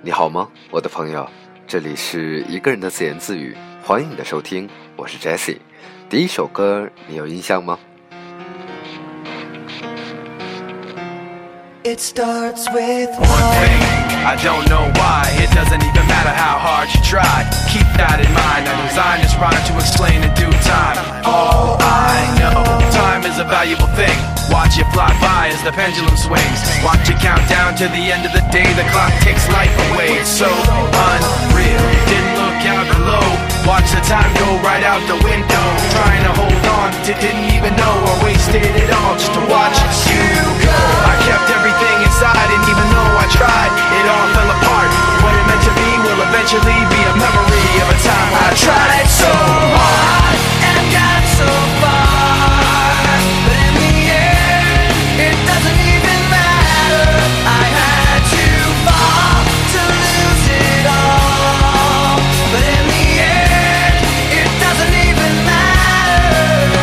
你好吗，我的朋友？这里是一个人的自言自语，欢迎你的收听，我是 Jesse。第一首歌你有印象吗？ It starts with one thing, I don't know why. It doesn't even matter how hard you try. Keep that in mind. I designed this rhyme to explain in due time. All I know, time is a valuable thing. Watch it fly by as the pendulum swings. Watch it count down to the end of the day. The clock takes life away. It's so unreal. Didn't look out below. Watch the time go right out the window. Trying to hold on to didn't even know I wasted it all just to watch you go. I kept everything inside, and even though I tried, it all fell apart. What it meant to be will eventually be a memory of a time I tried so hard and got so far, but in the end, it doesn't even matter. I had to fall to lose it all, but in the end, it doesn't even matter.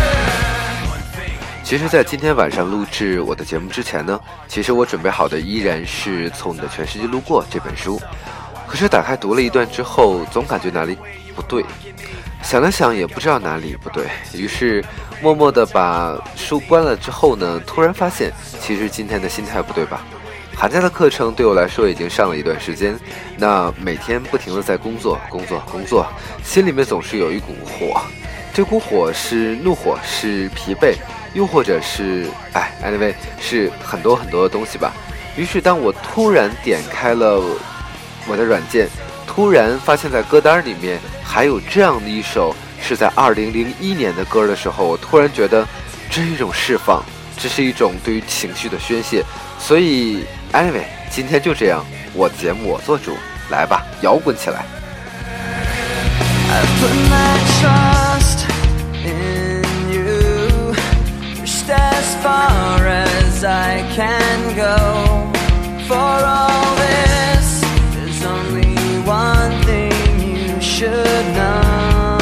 其实在今天晚上录制我的节目之前呢，其实我准备好的依然是《从你的全世界路过》这本书，可是打开读了一段之后，总感觉哪里不对，想了想也不知道哪里不对，于是默默地把书关了之后呢，突然发现其实今天的心态不对吧。寒假的课程对我来说已经上了一段时间，那每天不停地在工作，心里面总是有一股火，这股火是怒火，是疲惫，又或者是anyway 是很多很多的东西吧。于是当我突然点开了我的软件，突然发现在歌单里面还有这样的一首是在2001年的歌的时候，我突然觉得这是一种释放，这是一种对于情绪的宣泄。所以anyway 今天就这样，我的节目我做主，来吧，摇滚起来。 I put my trust in you, pushed as far as I can go. For all this, there's only one thing you should know.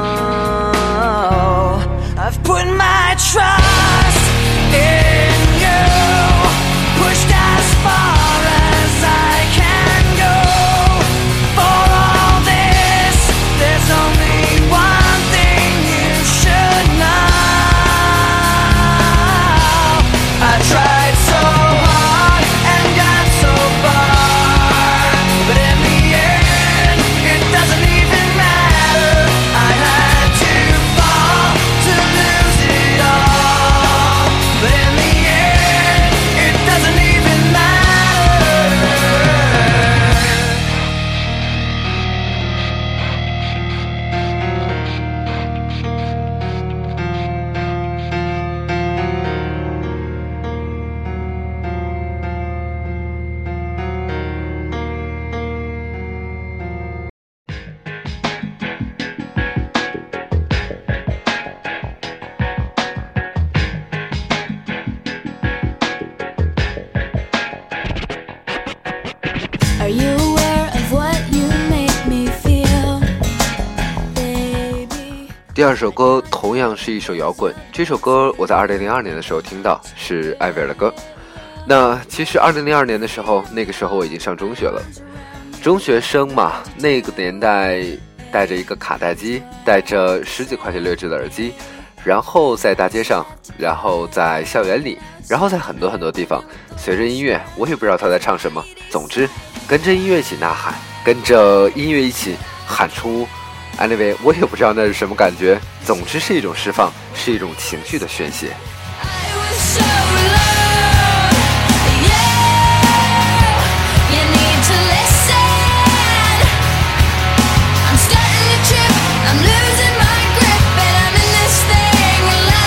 I've put my trust in you, pushed as far as I can go. For all this, there's only one thing you should know. I tried so hard and got so far, but in the end, it doesn't even matter. I had to fall to lose it all, but in the end, it doesn't even matter. Are you aware of what you make me feel, baby? 第二首歌同样是一首摇滚，这首歌我在2002年的时候听到，是艾薇儿的歌。那其实2002年的时候，那个时候我已经上中学了，中学生嘛，那个年代带着一个卡带机，带着10几块钱劣质的耳机，然后在大街上，然后在校园里，然后在很多很多地方，随着音乐，我也不知道他在唱什么，总之跟着音乐一起呐喊，跟着音乐一起喊出 anyway 我也不知道那是什么感觉，总之是一种释放，是一种情绪的宣泄。 I was so alone, yeah. You need to listen. I'm starting to trip, I'm losing my grip, and I'm in this thing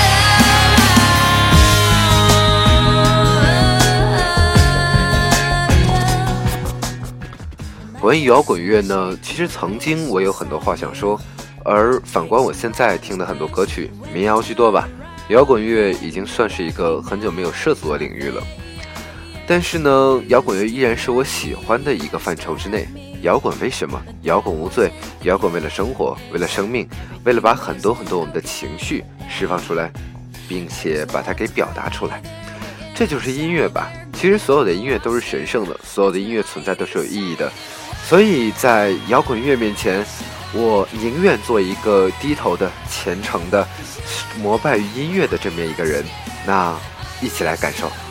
alone. 关于摇滚乐呢，其实曾经我有很多话想说，而反观我现在听的很多歌曲，民谣居多吧，摇滚乐已经算是一个很久没有涉足的领域了。但是呢，摇滚乐依然是我喜欢的一个范畴之内。摇滚为什么？摇滚无罪，摇滚为了生活，为了生命，为了把很多很多我们的情绪释放出来，并且把它给表达出来。这就是音乐吧。 其实所有的音乐都是神圣的，所有的音乐存在都是有意义的，所以在摇滚乐面前，我宁愿做一个低头的、虔诚的、膜拜于音乐的这么一个人。那一起来感受。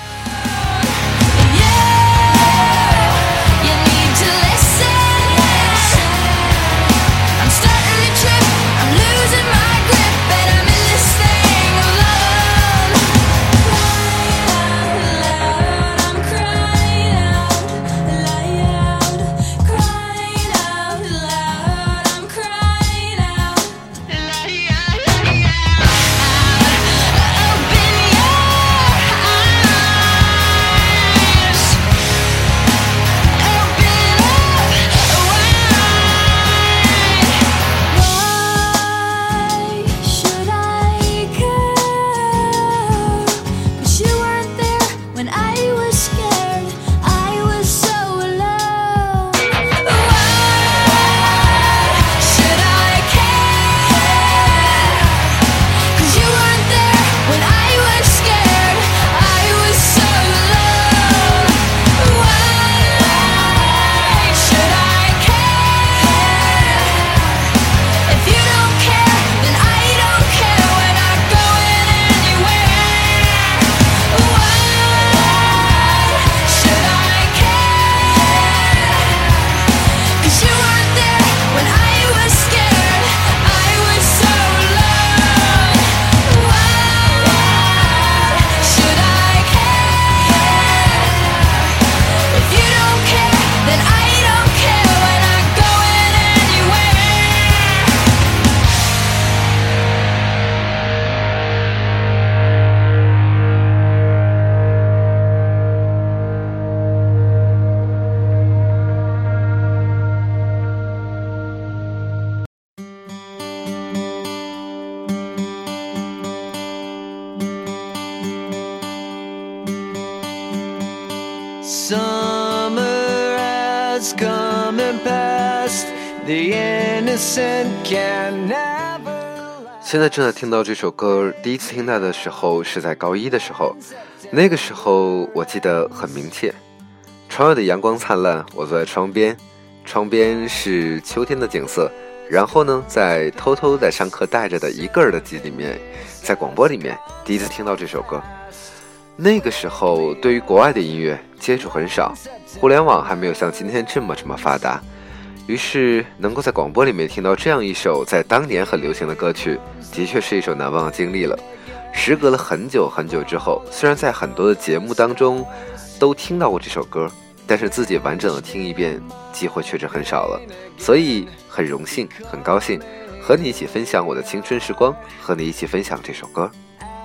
Summer has come and passed, the innocent can never. 现在正在听到这首歌，第一次听到的时候是在高一的时候，那个时候我记得很明切。窗外的阳光灿烂，我坐在窗边，窗边是秋天的景色。然后呢，在偷偷在上课带着的一个耳机里面，在广播里面第一次听到这首歌。那个时候对于国外的音乐接触很少，互联网还没有像今天这么发达，于是能够在广播里面听到这样一首在当年很流行的歌曲，的确是一首难忘的经历了。时隔了很久很久之后，虽然在很多的节目当中都听到过这首歌，但是自己完整的听一遍机会确实很少了，所以很荣幸很高兴和你一起分享我的青春时光，和你一起分享这首歌。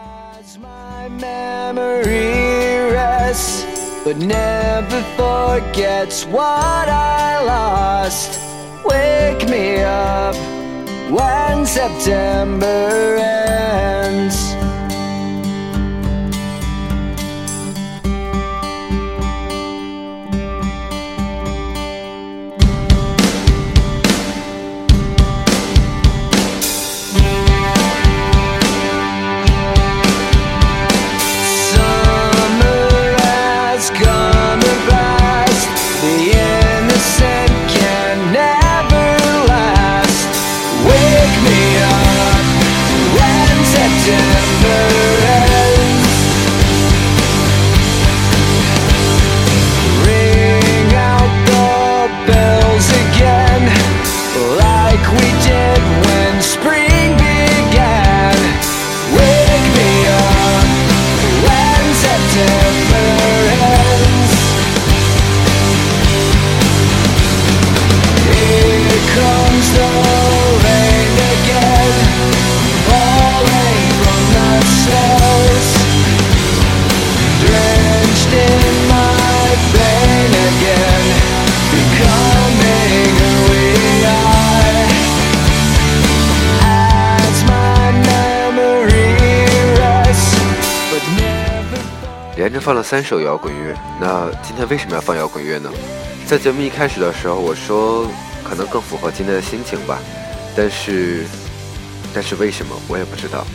Memory rests, but never forgets what I lost. Wake me up when September ends. 连着放了3首摇滚乐，那今天为什么要放摇滚乐呢？在节目一开始的时候我说可能更符合今天的心情吧，但是为什么我也不知道。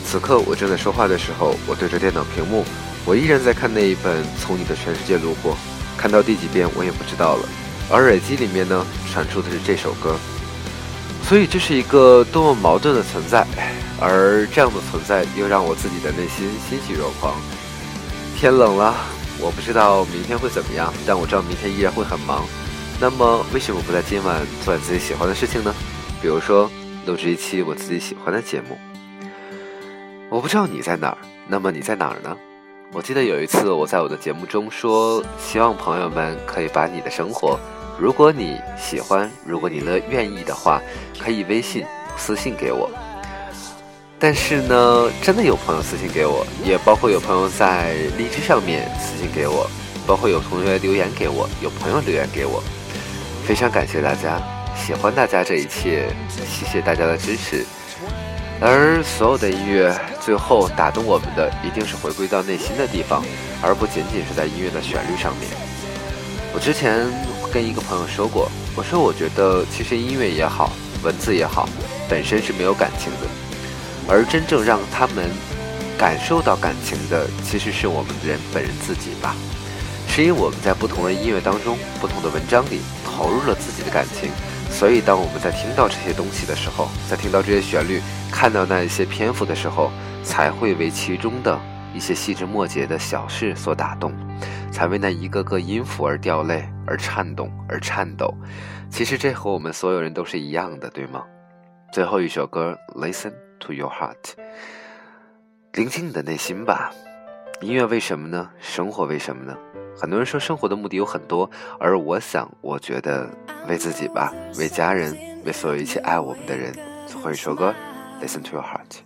此刻我正在说话的时候，我对着电脑屏幕，我依然在看那一本《从你的全世界路过》，看到第几遍我也不知道了。而耳机里面呢，传出的是这首歌。所以这是一个多么矛盾的存在，而这样的存在又让我自己的内心欣喜若狂。天冷了，我不知道明天会怎么样，但我知道明天依然会很忙。那么为什么不在今晚做自己喜欢的事情呢？比如说录制一期我自己喜欢的节目。我不知道你在哪儿，那么你在哪儿呢？我记得有一次我在我的节目中说，希望朋友们可以把你的生活，如果你喜欢，如果你愿意的话，可以微信私信给我。但是呢，真的有朋友私信给我，也包括有朋友在荔枝上面私信给我，包括有同学留言给我，有朋友留言给我。非常感谢大家，喜欢大家这一切，谢谢大家的支持。而所有的音乐最后打动我们的一定是回归到内心的地方，而不仅仅是在音乐的旋律上面。我之前跟一个朋友说过，我说我觉得其实音乐也好，文字也好，本身是没有感情的，而真正让他们感受到感情的其实是我们本人自己吧。是因为我们在不同的音乐当中，不同的文章里投入了自己的感情，所以当我们在听到这些东西的时候，在听到这些旋律，看到那一些篇幅的时候，才会为其中的一些细枝末节的小事所打动，才为那一个个音符而掉泪，而颤动，而颤抖。其实这和我们所有人都是一样的，对吗？最后一首歌 Listen to your heart， 聆听你的内心吧。音乐为什么呢？生活为什么呢？很多人说生活的目的有很多，而我觉得为自己吧，为家人，为所有一切爱我们的人。最后一首歌 Listen to your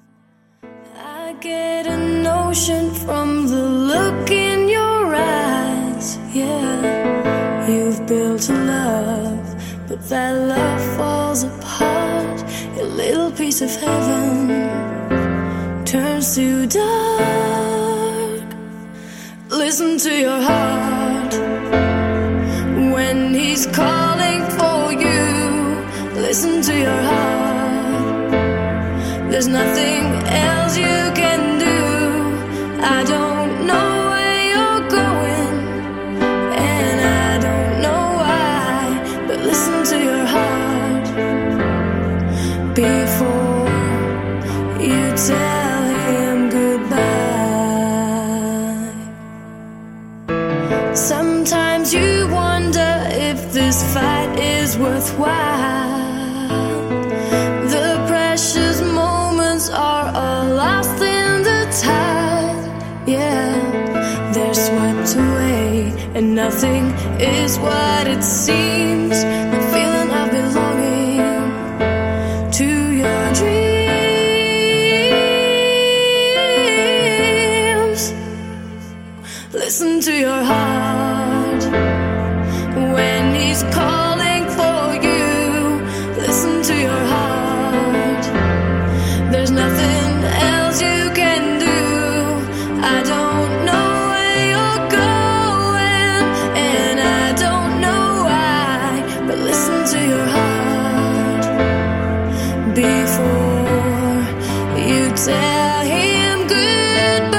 heart。I get a notion from the look in your eyes. Yeah, you've built a love, but that love falls apart. Your little piece of heaven turns to dark. Listen to your heart when he's calling for you. Listen to your heart. There's nothing else you can do. I don't know where you're going, and I don't know why, but listen to your heart before you tell him goodbye. Sometimes you wonder if this fight is worthwhile. The precious moments are all lost in the tide. Yeah, they're swept away, and nothing is what it seems. The feeling of belonging to your dreams. Listen to your heart when he's calling for you. Listen to your heart. There's nothing else you can do. I don't know where you're going, and I don't know why, but listen to your heart before you tell him goodbye.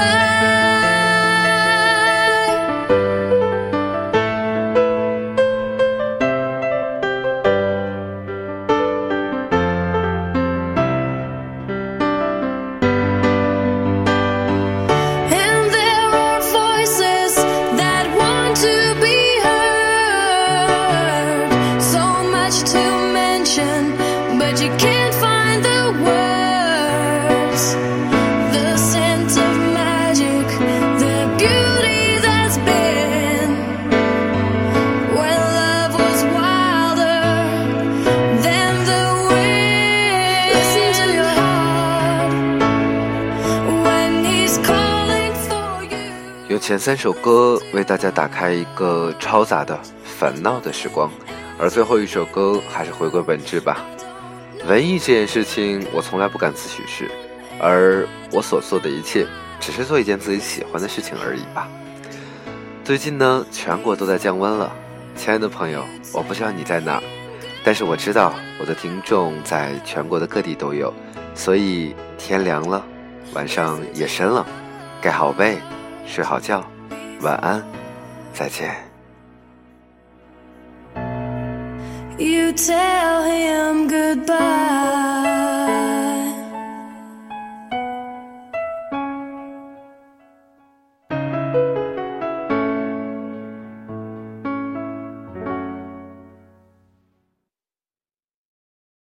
But you can't find the words, the sense of magic, the beauty that's been when love was wilder than the wind. Listen to your heart when he's calling for you. 用前3首歌为大家打开一个嘈杂的烦恼的时光，而最后一首歌还是回归本质吧。文艺这件事情我从来不敢自诩是，而我所做的一切只是做一件自己喜欢的事情而已吧。最近呢，全国都在降温了，亲爱的朋友，我不知道你在哪儿，但是我知道我的听众在全国的各地都有，所以天凉了， 晚上也深了，盖好被，睡好觉，晚安，再见。 You tell him goodbye.